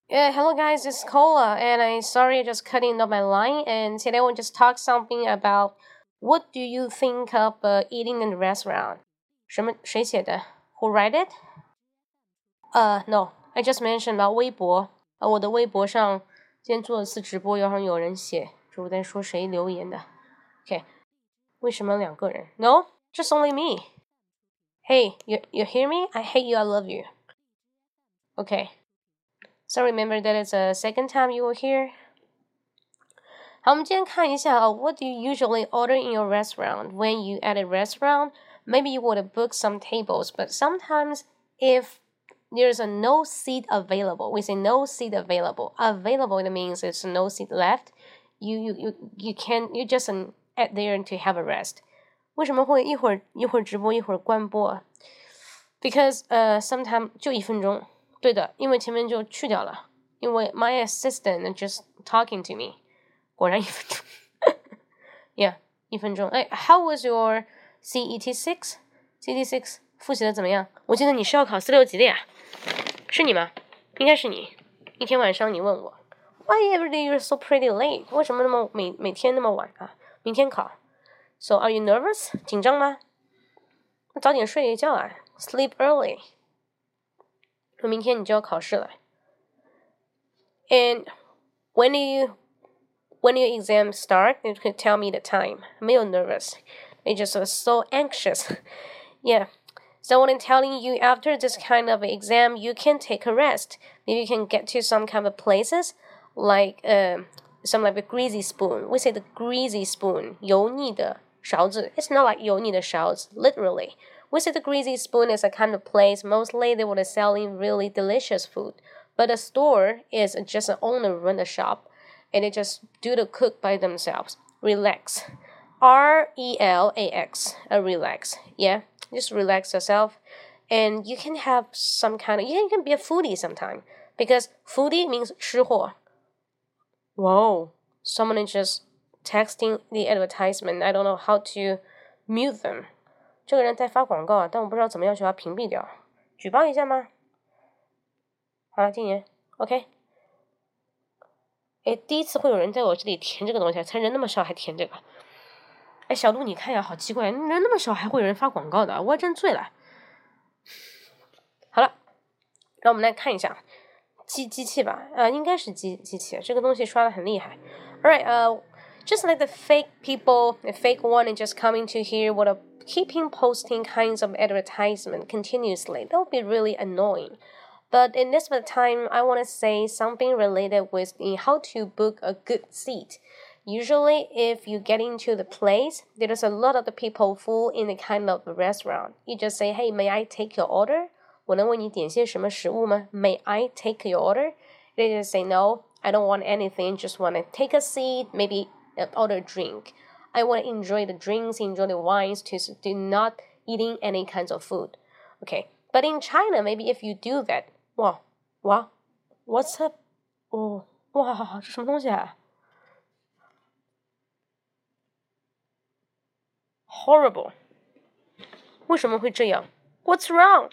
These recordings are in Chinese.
Yeah, hello guys, it's Cola, and I'm sorry I just cutting up my line. And today we'll just talk something about what do you think of eating in a restaurant? 谁写的 Who write it? No, I just mentioned about 微博。我的微博上今天做了次直播，然后有人写，就我在说谁留言的。OK，为什么两个人 ？No, just only me. Hey, you hear me? I hate you. I love you. Okay. So remember that it's the second time you were here. 好，我们今天看一下what do you usually order in your restaurant? When you at a restaurant, maybe you would book some tables, but sometimes if there's a no seat available, we say no seat available. Available it means there's no seat left. You can you just at there to have a rest. 为什么会一会儿直播一会儿关播啊 ？Because sometimes 就1分钟。对的，因为前面就去掉了，因为 my assistant just talking to me， 果然1分钟，yeah， 1分钟。How was your CET 6？CET 6复习的怎么样？我记得你是要考4、6级的呀，是你吗？应该是你。一天晚上你问我 ，Why every day you're so pretty late？ 为什么那么每天那么晚啊？明天考。So are you nervous？ 紧张吗？那早点睡一觉啊 ，sleep early。明天你就要考试了。And when your exam start, you can tell me the time. 没有 nervous. They just so anxious. Yeah. So when I'm telling you after this kind of exam, you can take a rest. Maybe you can get to some kind of places like some like a greasy spoon. We say the greasy spoon, 油腻的勺子. It's not like 油腻的勺子, literally. We say the greasy spoon is a kind of place mostly they would selling really delicious food. But the store is just an owner run the shop and they just do the cook by themselves. Relax. RELAX. Relax. Yeah. Just relax yourself. And you can have some kind of you can be a foodie sometime. Because foodie means 吃货. Whoa. Someone is just texting the advertisement. I don't know how to mute them. 这个人在发广告啊，但我不知道怎么样去把它屏蔽掉。举报一下吗？好了，禁言。OK。第一次会有人在我这里填这个东西，才人那么少还填这个。小鹿，你看呀，好奇怪，人那么少还会有人发广告的，我真醉了。好了，让我们来看一下机器吧，应该是机器，这个东西刷的很厉害。Alright, just like the fake people, the fake one is just coming to here would keeping posting kinds of advertisement continuously. That would be really annoying. But in this time, I want to say something related with how to book a good seat. Usually, if you get into the place, there's a lot of the people full in the kind of restaurant. You just say, "Hey, may I take your order?" 我能为你点些什么食物吗 May I take your order? They just say, "No, I don't want anything. Just want to take a seat, maybe order a drink. I want to enjoy the drinks, enjoy the wines, to not eating any kinds of food." Okay, but in China, maybe if you do that, wow, what's up? 哇，这什么东西啊 ？Horrible. 为什么会这样 ？What's wrong?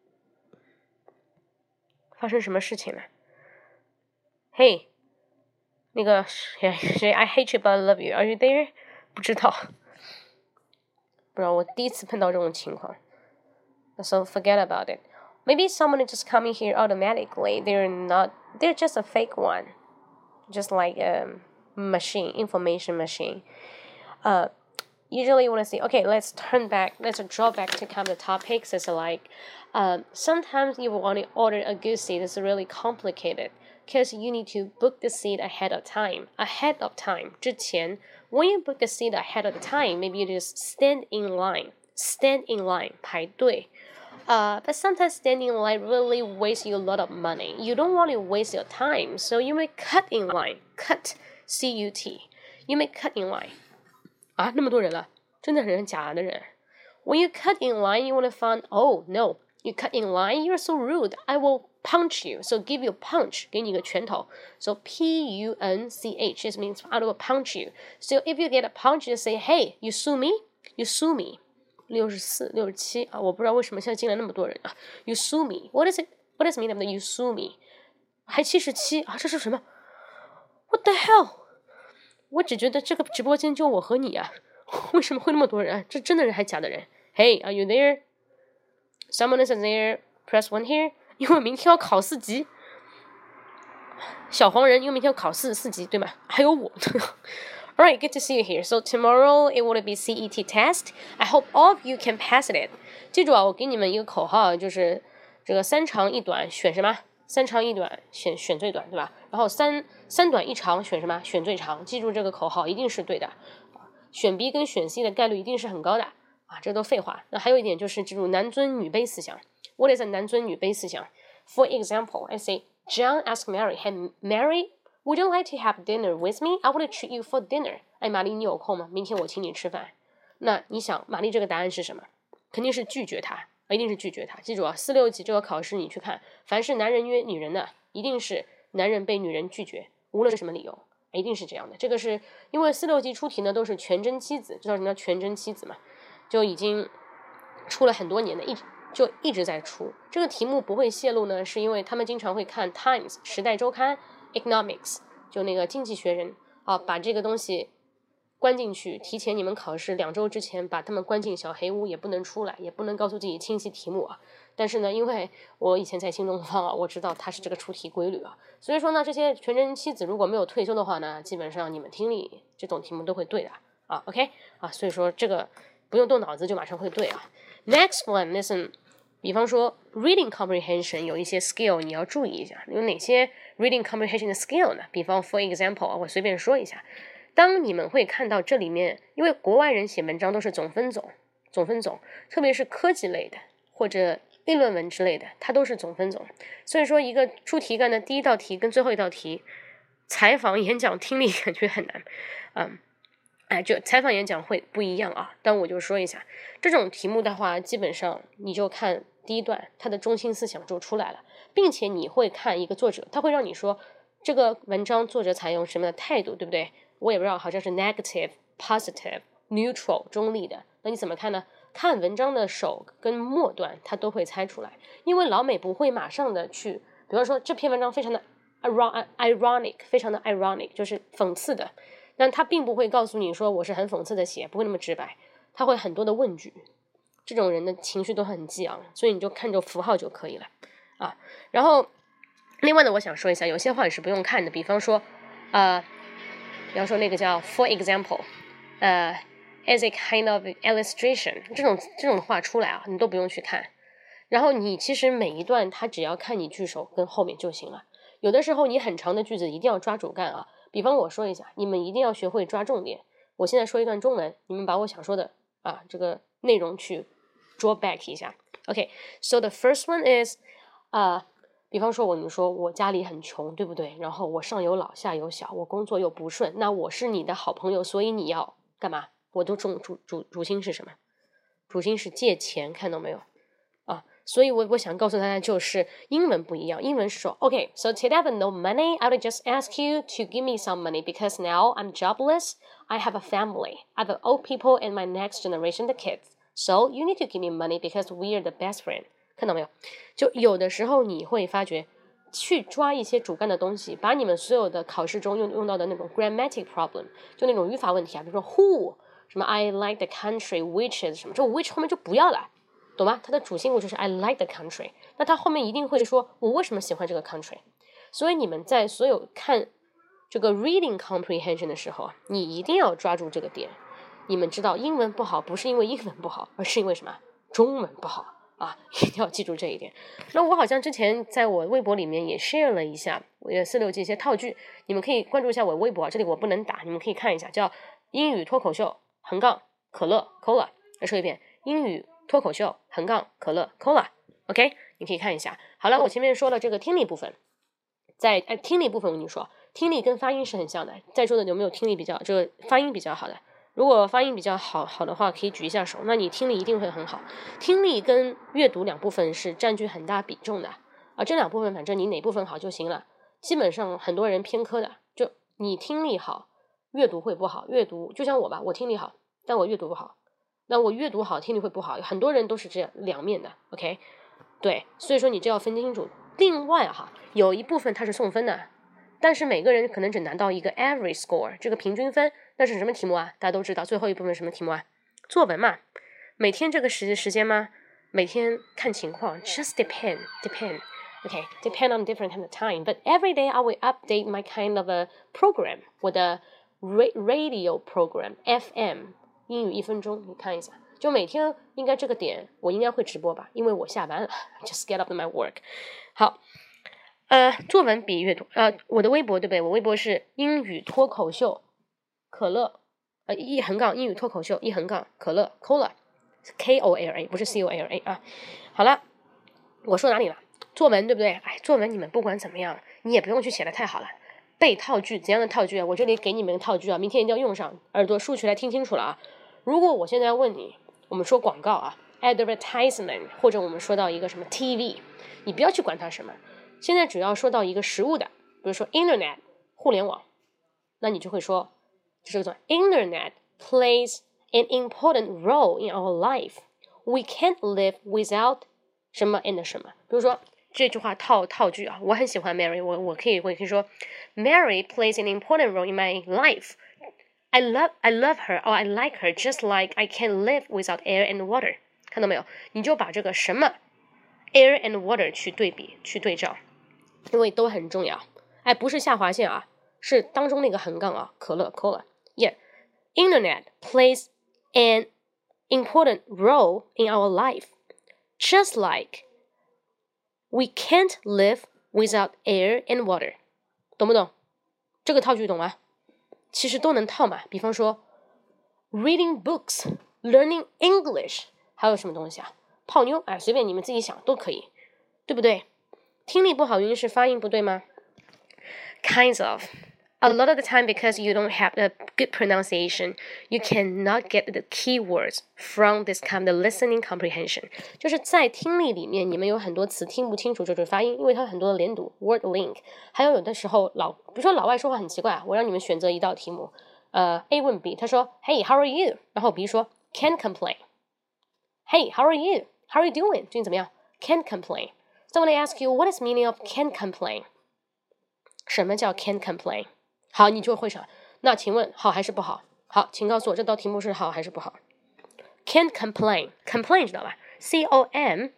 发生什么事情了 ？Hey, 那个谁 I hate you but I love you. Are you there? 不知道，我第一次碰到这种情况。So forget about it. Maybe someone is just coming here automatically. They're just a fake one. Just like a machine, information machine. Usually you want to say, okay, let's draw back to kind of the topics. It's like, sometimes you want to order a good seat. It's really complicated because you need to book the seat ahead of time. 之前 when you book a seat ahead of the time, maybe you just stand in line, 排队。But sometimes standing in line really wastes you a lot of money. You don't want to waste your time, so you may cut in line. Cut, C-U-T. You may cut in line. 啊，那么多人了，真的人假的人。When you cut in line, you want to find, oh no, you cut in line, you're so rude. I will punch you. So give you a punch, 给你一个拳头。So P-U-N-C-H, it means I will punch you. So if you get a punch, you say, hey, you sue me? You sue me. 64、67啊，我不知道为什么现在进来那么多人啊。You sue me. What does it mean that you sue me? 还77啊，这是什么 ？What the hell？ 我只觉得这个直播间就我和你啊，为什么会那么多人？这真的人还假的人 ？Hey, are you there? Someone is there. Press 1 here. 因为明天要考4级。小黄人，因为明天要考4级，对吗？还有我。Alright, good to see you here. So tomorrow it will be CET test. I hope all of you can pass it. 记住啊，我给你们一个口号，就是这个3长1短选什么？3长1短选最短，对吧？然后3短1长选什么？选最长。记住这个口号一定是对的。选 B 跟选 C 的概率一定是很高的啊，这都废话。那还有一点就是记住男尊女卑思想。What is a 男尊女卑思想 ？For example, I say John asked Mary, "Hey Mary, would you like to have dinner with me? I want to treat you for dinner." 哎，玛丽，你有空吗？明天我请你吃饭。那你想，玛丽这个答案是什么？肯定是拒绝他，一定是拒绝他。记住啊，4、6级这个考试你去看，凡是男人约女人的，一定是男人被女人拒绝，无论是什么理由，一定是这样的。这个是因为4、6级出题呢都是全真妻子，知道什么叫全真妻子吗？就已经出了很多年的，一直在出。这个题目不会泄露呢，是因为他们经常会看 Times 时代周刊 Economics 就那个经济学人啊，把这个东西关进去，提前你们考试2周之前把他们关进小黑屋，也不能出来，也不能告诉自己清晰题目啊。但是呢，因为我以前在新东方啊，我知道它是这个出题规律啊，所以说呢，这些全真妻子如果没有退休的话呢，基本上你们听力这种题目都会对的啊。OK 啊，所以说这个不用动脑子就马上会对啊。Next one, listen. 比方说 reading comprehension 有一些 skill 你要注意一下，有哪些 reading comprehension 的 skill 呢？比方 for example 我随便说一下，当你们会看到这里面，因为国外人写文章都是总分总，特别是科技类的或者议论文之类的，它都是总分总。所以说一个出题干的第一道题跟最后一道题，采访、演讲、听力感觉很难，就采访演讲会不一样啊，但我就说一下，这种题目的话，基本上你就看第一段，它的中心思想就出来了，并且你会看一个作者，他会让你说这个文章作者采用什么的态度，对不对？我也不知道，好像是 negative、positive、neutral 中立的，那你怎么看呢？看文章的首跟末段，他都会猜出来，因为老美不会马上的去，比方说这篇文章非常的 ironic， 非常的 ironic， 就是讽刺的。但他并不会告诉你说我是很讽刺的写，不会那么直白，他会很多的问句，这种人的情绪都很激昂，所以你就看着符号就可以了啊。然后另外呢，我想说一下，有些话你是不用看的，比方说比方说那个叫 for example， as a kind of illustration 这种话出来啊，你都不用去看。然后你其实每一段他只要看你句首跟后面就行了。有的时候你很长的句子一定要抓主干啊。比方我说一下，你们一定要学会抓重点。我现在说一段中文，你们把我想说的这个内容去 draw back 一下。Okay, so the first one is 比方说你说我家里很穷，对不对？然后我上有老下有小，我工作又不顺，那我是你的好朋友，所以你要干嘛？我都主心是什么？主心是借钱，看到没有？所以我想告诉大家就是英文不一样，英文是说 Okay, so today I have no money, I would just ask you to give me some money because now I'm jobless, I have a family, I have old people and my next generation the kids, so you need to give me money because we are the best friend. 看到没有？就有的时候你会发觉去抓一些主干的东西，把你们所有的考试中用到的那种 grammatic problem， 就那种语法问题啊，比如说 who 什么 I like the country which is 什么，这 which 后面就不要了，懂吗？它的主心骨就是 I like the country， 那它后面一定会说我为什么喜欢这个 country。 所以你们在所有看这个 reading comprehension 的时候啊，你一定要抓住这个点。你们知道英文不好不是因为英文不好，而是因为什么？中文不好啊，一定要记住这一点。那我好像之前在我微博里面也 share 了一下我4、6级一些套句，你们可以关注一下我微博，这里我不能打，你们可以看一下，叫英语脱口秀可乐 cola。 再说一遍，英语脱口秀可乐 cola。 OK， 你可以看一下。好了，我前面说了这个听力部分，在听力部分我跟你说，听力跟发音是很像的。在座的有没有听力比较这个发音比较好的？如果发音比较好的话，可以举一下手，那你听力一定会很好。听力跟阅读两部分是占据很大比重的这两部分反正你哪部分好就行了。基本上很多人偏科的，就你听力好，阅读会不好。阅读就像我吧，我听力好，但我阅读不好。那我阅读好，听力会不好。很多人都是这样两面的 ，OK？ 对，所以说你这要分清楚。另外有一部分它是送分的，但是每个人可能只拿到一个 average score 这个平均分。那是什么题目啊？大家都知道最后一部分什么题目啊？作文嘛。每天这个时间吗？每天看情况 just depend okay, depend on different kind of time, but every day I will update my kind of a program, 我的 radio program FM 英语1分钟，你看一下，就每天应该这个点我应该会直播吧，因为我下班了 just get up to my work。 好，作文比阅读，我的微博对不对？我微博是英语脱口秀可乐一横杠英语脱口秀一横杠可乐 Cola Kola 不是 Cola 啊。好了，我说哪里了？作文对不对？作文你们不管怎么样，你也不用去写的太好了。背套句，怎样的套句啊？我这里给你们套句啊，明天一定要用上，耳朵竖起来听清楚了啊。如果我现在要问你，我们说广告啊 advertisement， 或者我们说到一个什么 TV， 你不要去管它什么，现在只要说到一个实物的，比如说 internet 互联网，那你就会说这个叫 internet plays an important role in our life. We can't live without 什么 and 什么。比如说这句话套句啊，我很喜欢 Mary， 我可以说 Mary plays an important role in my life. I love her or I like her just like I can't live without air and water. 看到没有？你就把这个什么 air and water 去对比去对照，因为都很重要。不是下划线啊，是当中那个横杠啊，可乐 Cola。Yeah, internet plays an important role in our life, just like we can't live without air and water. 懂不懂？这个套句懂吗？其实都能套嘛。比方说 reading books, learning English， 还有什么东西啊？泡妞，随便你们自己想都可以，对不对？听力不好原因是发音不对吗？ Kinds of. A lot of the time, because you don't have a good pronunciation, you cannot get the keywords from this kind of listening comprehension. 就是在听力里面，你们有很多词听不清楚，就是发音，因为它很多的连读 word link。还有的时候比如说老外说话很奇怪，我让你们选择一道题目，A 问 B， 他说 Hey, how are you？ 然后 B 说 Can't complain. Hey, how are you? How are you doing? 最近怎么样 ？Can't complain. So when I ask you, what is meaning of can't complain？ 什么叫 can't complain？好，你就会想，那请问好还是不好？好，请告诉我这道题目是好还是不好 ？Can't complain， complain 知道吧 ？COMPLAIN，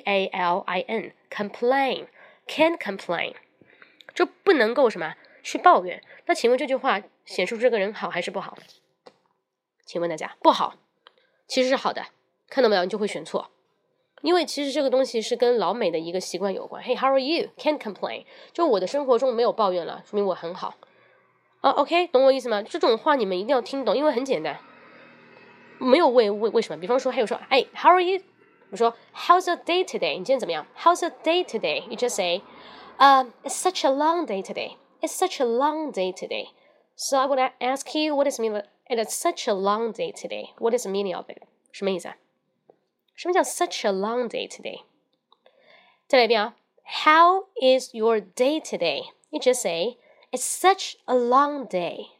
complain， can't complain， 就不能够什么去抱怨。那请问这句话显示出这个人好还是不好？请问大家，不好，其实是好的，看到没有？你就会选错。因为其实这个东西是跟老美的一个习惯有关。Hey, how are you? Can't complain， 就我的生活中没有抱怨了，说明我很好。OK， 懂我意思吗？这种话你们一定要听懂，因为很简单，没有为什么。比方说，还有说，How are you？ 我说 How's your day today？ 你今天怎么样 ？How's your day today？ You just say, It's such a long day today. It's such a long day today. So I would ask you, what is meaning? It's such a long day today. What is the meaning of it？ 什么意思啊？什么叫 such a long day today？ 再来一遍啊 ！How is your day today？ You just say.It's such a long day.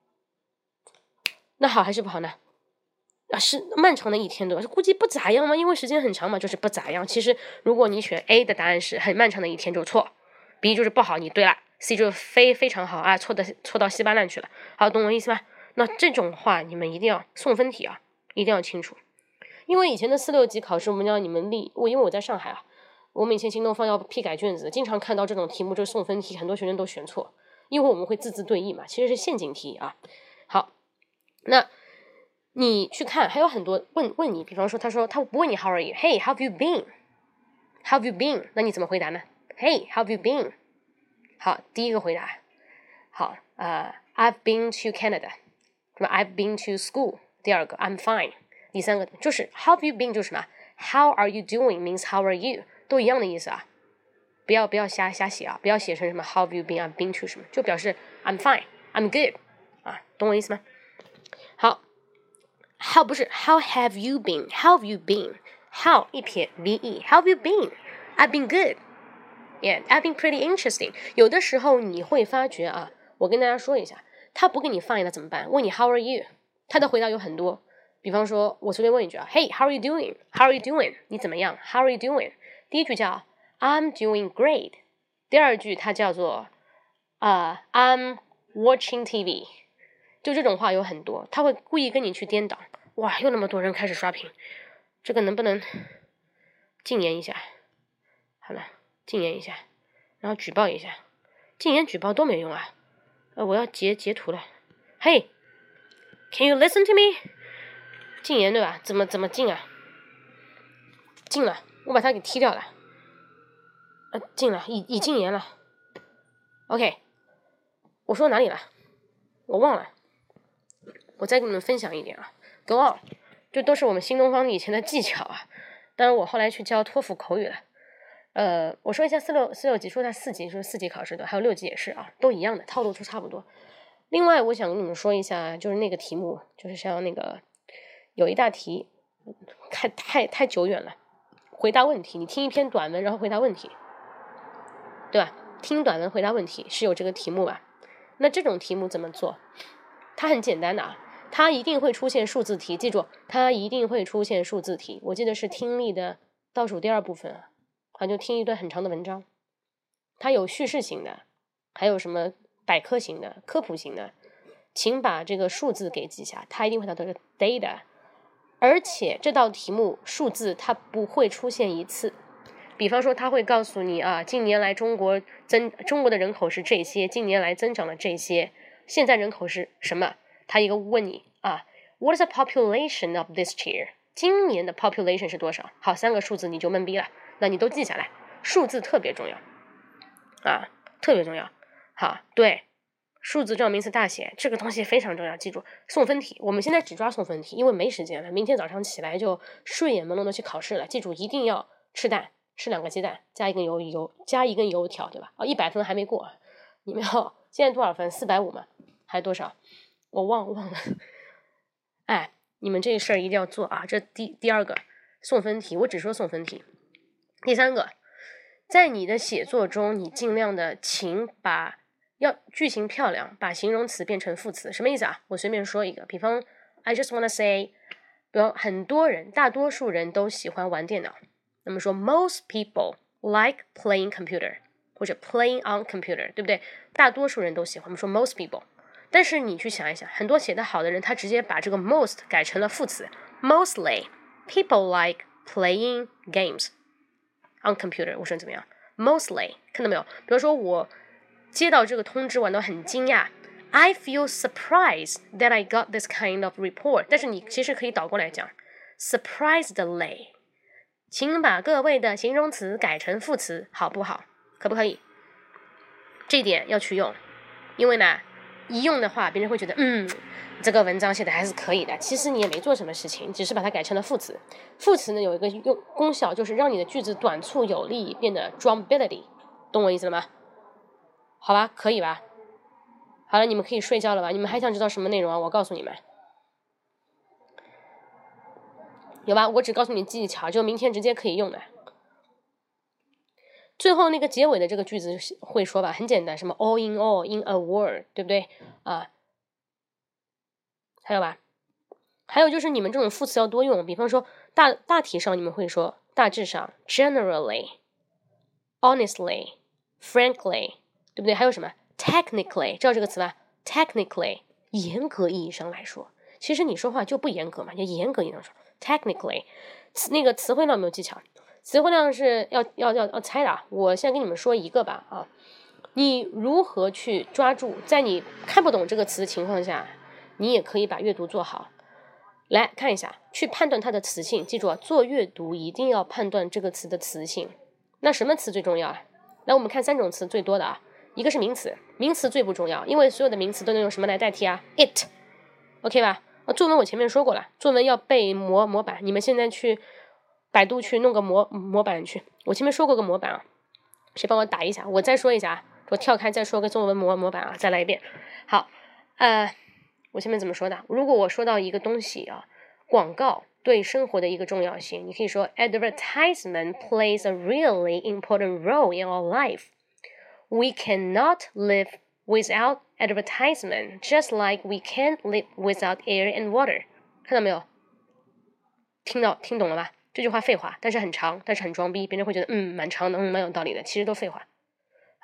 那好还是不好呢？是漫长的一天对吧？估计不咋样吗？因为时间很长嘛，就是不咋样。其实如果你选 A 的答案是很漫长的一天就错 ，B 就是不好，你对了 ，C 就是非常好啊，错到稀巴烂去了。好，懂我意思吗？那这种话你们一定要送分题啊，一定要清楚。因为以前的4、6级考试，我们要你们因为我在上海啊，我们以前新东方要批改卷子，经常看到这种题目就是送分题，很多学生都选错。因为我们会字字对应嘛，其实是陷阱题啊。好，那你去看，还有很多问你，比方说他不问你 How are you？ Hey, how have you been？ How have you been？ 那你怎么回答呢 ？Hey, how have you been？ 好，第一个回答，好，I've been to Canada， 什么 I've been to school。第二个 I'm fine。第三个就是 How have you been 就是什么 How are you doing means How are you， 都一样的意思啊。不要瞎写啊！不要写成什么 How have you been? I've been to 什么，就表示 I'm fine, I'm good 啊，懂我意思吗？好 ，How 不是 How have you been? How have you been? How 一撇 ve How have you been? I've been good. Yeah, I've been pretty interesting. 有的时候你会发觉啊，我跟大家说一下，他不给你放一个怎么办？问你 How are you？ 他的回答有很多，比方说我随便问一句啊 Hey, how are you doing? How are you doing? 你怎么样 ？How are you doing? 第一句叫I'm doing great. 第二句它叫做I'm watching TV， 就这种话有很多，他会故意跟你去颠倒。哇，又那么多人开始刷屏，这个能不能禁言一下？好了，禁言一下，然后举报一下，禁言举报都没用啊。我要截图了。Hey, can you listen to me？ 禁言对吧？怎么禁啊？禁了，我把它给踢掉了。禁了，已禁言了。OK， 我说哪里了？我忘了。我再给你们分享一点啊。Go on， 这都是我们新东方以前的技巧啊。当然我后来去教托福口语了。我说一下4、6级，说一下4级，就是4级考试的，还有6级也是啊，都一样的，套路都差不多。另外我想跟你们说一下，就是那个题目，就是像那个有一大题太久远了，回答问题，你听一篇短文然后回答问题，对吧？听短文回答问题是有这个题目吧？那这种题目怎么做？它很简单的啊，它一定会出现数字题，记住，它一定会出现数字题。我记得是听力的倒数第2部分啊，好，就听一段很长的文章，它有叙事型的，还有什么百科型的、科普型的，请把这个数字给记下，它一定会拿到这个 data， 而且这道题目数字它不会出现一次。比方说他会告诉你啊，近年来中国的人口是这些，近年来增长了这些，现在人口是什么？他一个问你啊 ，What is the population of this year？ 今年的 population 是多少？好，3个数字你就懵逼了，那你都记下来，数字特别重要啊，特别重要。好，对，数字重要名词大写，这个东西非常重要，记住。送分题，我们现在只抓送分题，因为没时间了，明天早上起来就睡眼朦胧的去考试了。记住，一定要吃蛋。吃2个鸡蛋，加一根油条，对吧？100分还没过，你们要现在多少分？450吗？还多少？我忘了。哎，你们这事儿一定要做啊！这第2个送分题，我只说送分题。第3个，在你的写作中，你尽量的要句型漂亮，把形容词变成副词。什么意思啊？我随便说一个，比方 I just wanna say， 比方大多数人都喜欢玩电脑。那么说 most people like playing computer 或者 playing on computer， 对不对？大多数人都喜欢，我们说 most people。但是你去想一想，很多写得好的人，他直接把这个 most 改成了副词 mostly people like playing games on computer。 我说怎么样 mostly， 看到没有？比如说我接到这个通知，我都很惊讶， I feel surprised that I got this kind of report。 但是你其实可以倒过来讲 surprisedly，请把各位的形容词改成副词，好不好？可不可以？这一点要去用，因为呢，一用的话，别人会觉得，这个文章写的还是可以的。其实你也没做什么事情，只是把它改成了副词。副词呢有一个功效，就是让你的句子短促有力，变得 drumbility， 懂我意思了吗？好吧，可以吧？好了，你们可以睡觉了吧？你们还想知道什么内容啊？我告诉你们。有吧？我只告诉你技巧，就明天直接可以用的。最后那个结尾的这个句子会说吧，很简单，什么 all in all in a word， 对不对啊？还有吧？还有就是你们这种副词要多用，比方说大体上你们会说大致上 generally honestly frankly， 对不对？还有什么 technically， 知道这个词吧？ technically 严格意义上来说，其实你说话就不严格嘛，就严格意义上说technically。 那个词汇量有没有技巧？词汇量是要猜的啊。我现在跟你们说一个吧啊，你如何去抓住在你看不懂这个词的情况下，你也可以把阅读做好。来看一下，去判断它的词性。记住啊，做阅读一定要判断这个词的词性。那什么词最重要啊？来，我们看3种词最多的啊，一个是名词，名词最不重要，因为所有的名词都能用什么来代替啊 ？it， OK 吧？作文我前面说过了，作文要背模板，你们现在去百度去弄个模板去。我前面说过个模板啊，谁帮我打一下？我再说一下啊，我跳开再说个作文模板啊，再来一遍。好，我前面怎么说的？如果我说到一个东西啊，广告对生活的一个重要性，你可以说 advertisement plays a really important role in our life. We cannot live without advertisement, just like we can't live without air and water. 看到没有？听懂了吧？这句话废话，但是很长，但是很装逼，别人会觉得蛮长的，蛮有道理的，其实都废话。好，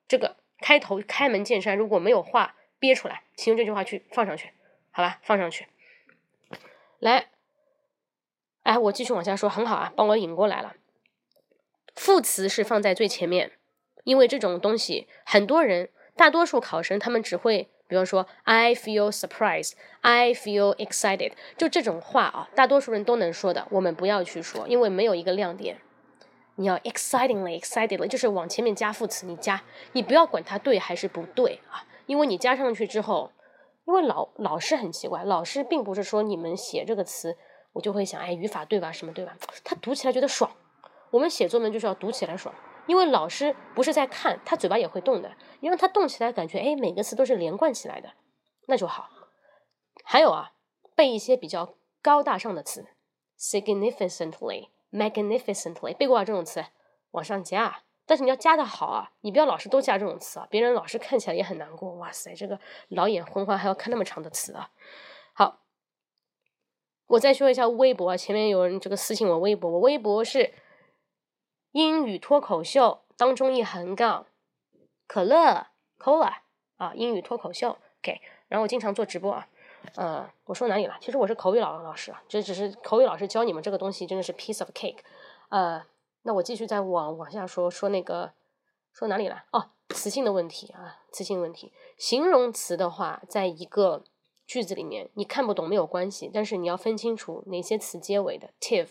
这个开头开门见山，如果没有话憋出来，请用这句话去放上去，好吧，放上去。来，哎，我继续往下说，很好啊，帮我引过来了。副词是放在最前面，因为这种东西很多人大多数考生他们只会比方说 I feel surprised, I feel excited， 就这种话啊，大多数人都能说的，我们不要去说，因为没有一个亮点。你要 excitedly 就是往前面加副词，你不要管它对还是不对啊，因为你加上去之后，因为老师很奇怪，老师并不是说你们写这个词我就会想哎语法对吧什么对吧，他读起来觉得爽，我们写作文就是要读起来爽，因为老师不是在看，他嘴巴也会动的，你让他动起来感觉哎每个词都是连贯起来的，那就好。还有啊，背一些比较高大上的词 significantly magnificently， 背过这种词往上加，但是你要加的好啊，你不要老是都加这种词啊，别人老是看起来也很难过，哇塞这个老眼昏花还要看那么长的词啊。好，我再说一下微博，前面有人这个私信我微博，我微博是英语脱口秀当中一横杠可乐 cola 啊，英语脱口秀 OK， 然后我经常做直播啊。我说哪里了？其实我是口语老师啊，这只是口语老师教你们这个东西真的是 piece of cake。那我继续再往下说那个说哪里了？哦，词性的问题啊，词性问题。形容词的话，在一个句子里面你看不懂没有关系，但是你要分清楚哪些词结尾的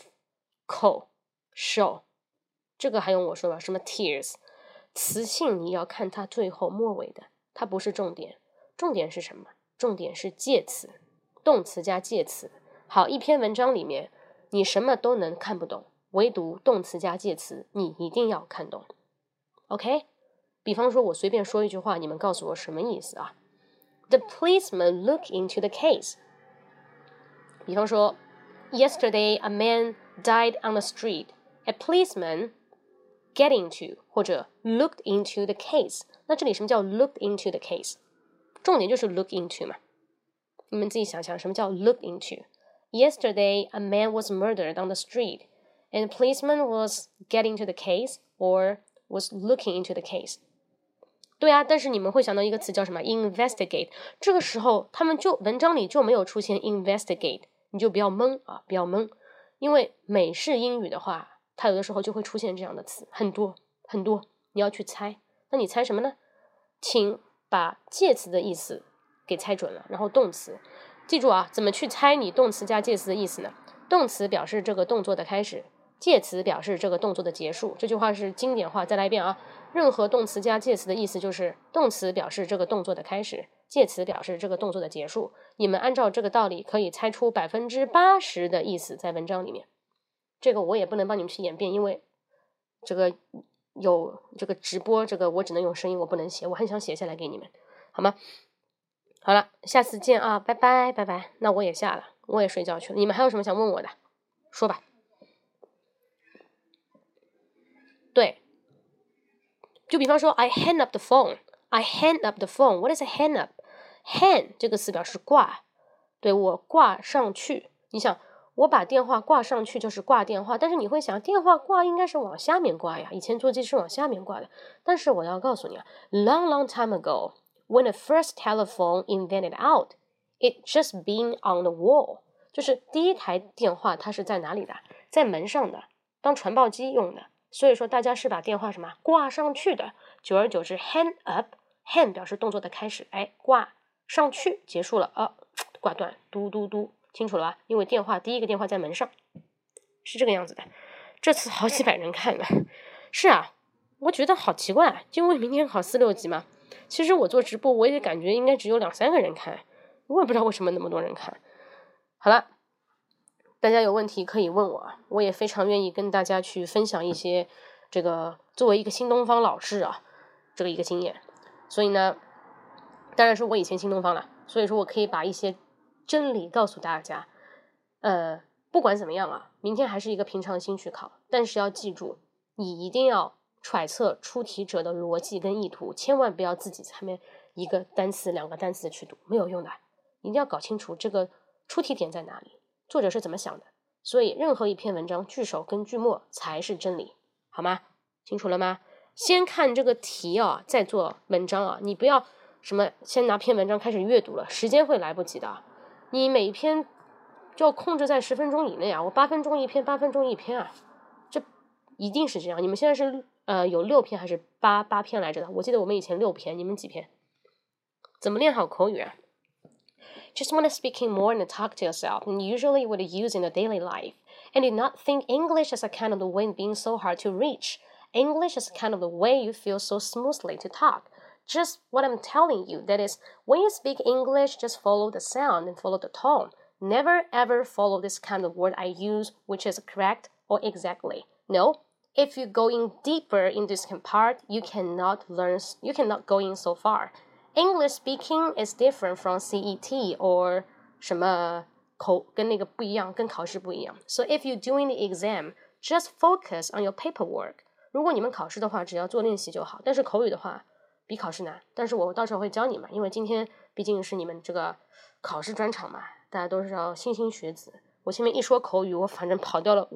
tive、co、show， 这个还用我说吧？什么 tears， 词性你要看它最后末尾的，它不是重点，重点是什么？重点是介词，动词加介词。好，一篇文章里面你什么都能看不懂，唯独动词加介词你一定要看懂 OK。 比方说我随便说一句话，你们告诉我什么意思啊？ The policeman looked into the case。 比方说 Yesterday a man died on the street. A policeman get into 或者 looked into the case。 那这里什么叫 looked into the case？重点就是 look into 嘛，你们自己想想什么叫 look into。 Yesterday a man was murdered on the street and the policeman was getting to the case or was looking into the case。 对啊，但是你们会想到一个词叫什么 investigate， 这个时候他们就文章里就没有出现 investigate， 你就不要懵啊，不要懵，因为美式英语的话它有的时候就会出现这样的词，很多很多，你要去猜。那你猜什么呢？请把介词的意思给猜准了，然后动词记住啊，怎么去猜你动词加介词的意思呢？动词表示这个动作的开始，介词表示这个动作的结束。这句话是经典话，再来一遍啊，任何动词加介词的意思就是动词表示这个动作的开始，介词表示这个动作的结束。你们按照这个道理可以猜出80%的意思在文章里面。这个我也不能帮你们去演变，因为这个有这个直播，这个我只能用声音，我不能写，我很想写下来给你们，好吗？好了，下次见啊，拜拜拜拜。那我也下了，我也睡觉去了。你们还有什么想问我的？说吧。对，就比方说 I hang up the phone， I hang up the phone。 What is a hang up？ Hang 这个词表示挂，对，我挂上去。你想我把电话挂上去就是挂电话，但是你会想电话挂应该是往下面挂呀，以前座机是往下面挂的。但是我要告诉你啊， long time ago when the first telephone invented out, it just been on the wall。 就是第一台电话它是在哪里的？在门上的，当传报机用的。所以说大家是把电话什么挂上去的，久而久之 hang up， hang 表示动作的开始，哎，挂上去结束了啊，挂断，嘟嘟嘟，清楚了吧？因为第一个电话在门上，是这个样子的。这次好几百人看了，是啊，我觉得好奇怪，因为明天考4、6级嘛。其实我做直播我也感觉应该只有2、3个人看，我也不知道为什么那么多人看。好了，大家有问题可以问我，我也非常愿意跟大家去分享一些这个作为一个新东方老师啊，这个一个经验。所以呢，当然是我以前新东方了，所以说我可以把一些真理告诉大家。不管怎么样啊，明天还是一个平常心去考，但是要记住，你一定要揣测出题者的逻辑跟意图，千万不要自己下面一个单词、2个单词去读，没有用的。一定要搞清楚这个出题点在哪里，作者是怎么想的。所以任何一篇文章句首跟句末才是真理，好吗？清楚了吗？ 先看这个题啊，再做文章啊，你不要什么先拿篇文章开始阅读了，时间会来不及的。你每一篇就要控制在10分钟以内啊，我8分钟一篇，8分钟一篇啊，这一定是这样。你们现在是有6篇还是8篇来着的？我记得我们以前6篇，你们几篇？怎么练好口语啊？Just want to speaking more and talk to yourself, and usually what you use in the daily life. And do not think English is a kind of the way being so hard to reach. English is kind of the way you feel so smoothly to talk. Just what I'm telling you, that is, when you speak English, just follow the sound and follow the tone. Never ever follow this kind of word I use, which is correct or exactly. No, if you go in deeper in this part, you cannot go in so far.English speaking is different from CET or 什么跟那个不一样，跟考试不一样。So if you're doing the exam, just focus on your paperwork. 如果你们考试的话，只要做练习就好。但是口语的话，比考试难。但是我到时候会教你们，因为今天毕竟是你们这个考试专场嘛，大家都是要莘莘学子。我前面一说口语，我反正跑掉了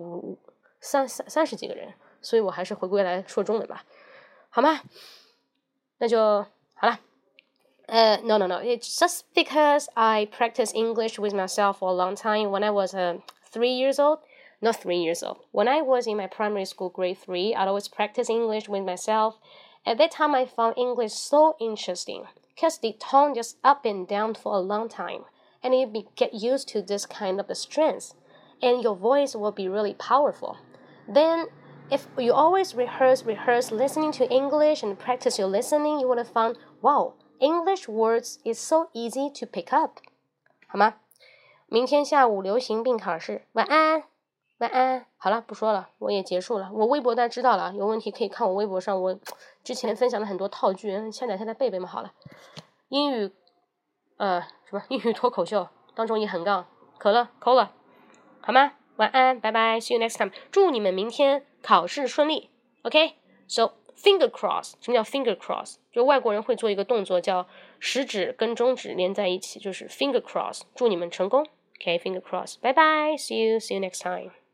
30几个人，所以我还是回归来说中文吧，好吗？那就好了。No. It's just because I practiced English with myself for a long time. When I was 3 years old, not 3 years old. When I was in my primary school, grade 3, I'd always practice English with myself. At that time, I found English so interesting because the tone just up and down for a long time, and you get used to this kind of the strength, and your voice will be really powerful. Then, if you always rehearse listening to English and practice your listening, you would have found, wow.English words is so easy to pick up. 好吗？明天下午流行病考试，晚安，晚安。好了，不说了，我也结束了。我微博大家知道了，有问题可以看我微博上，我之前分享了很多套句，下载背嘛。好了，英语英语脱口秀当中也很杠，可了，扣了，好吗？晚安，拜拜 ，See you next time。祝你们明天考试顺利 ，OK？So。Finger cross， 什么叫 finger cross？ 就外国人会做一个动作，叫食指跟中指连在一起，就是 finger cross。祝你们成功 ，OK，finger cross，拜拜 ，see you next time。